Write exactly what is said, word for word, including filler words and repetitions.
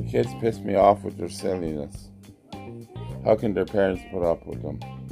Kids piss me off with their silliness. How can their parents put up with them?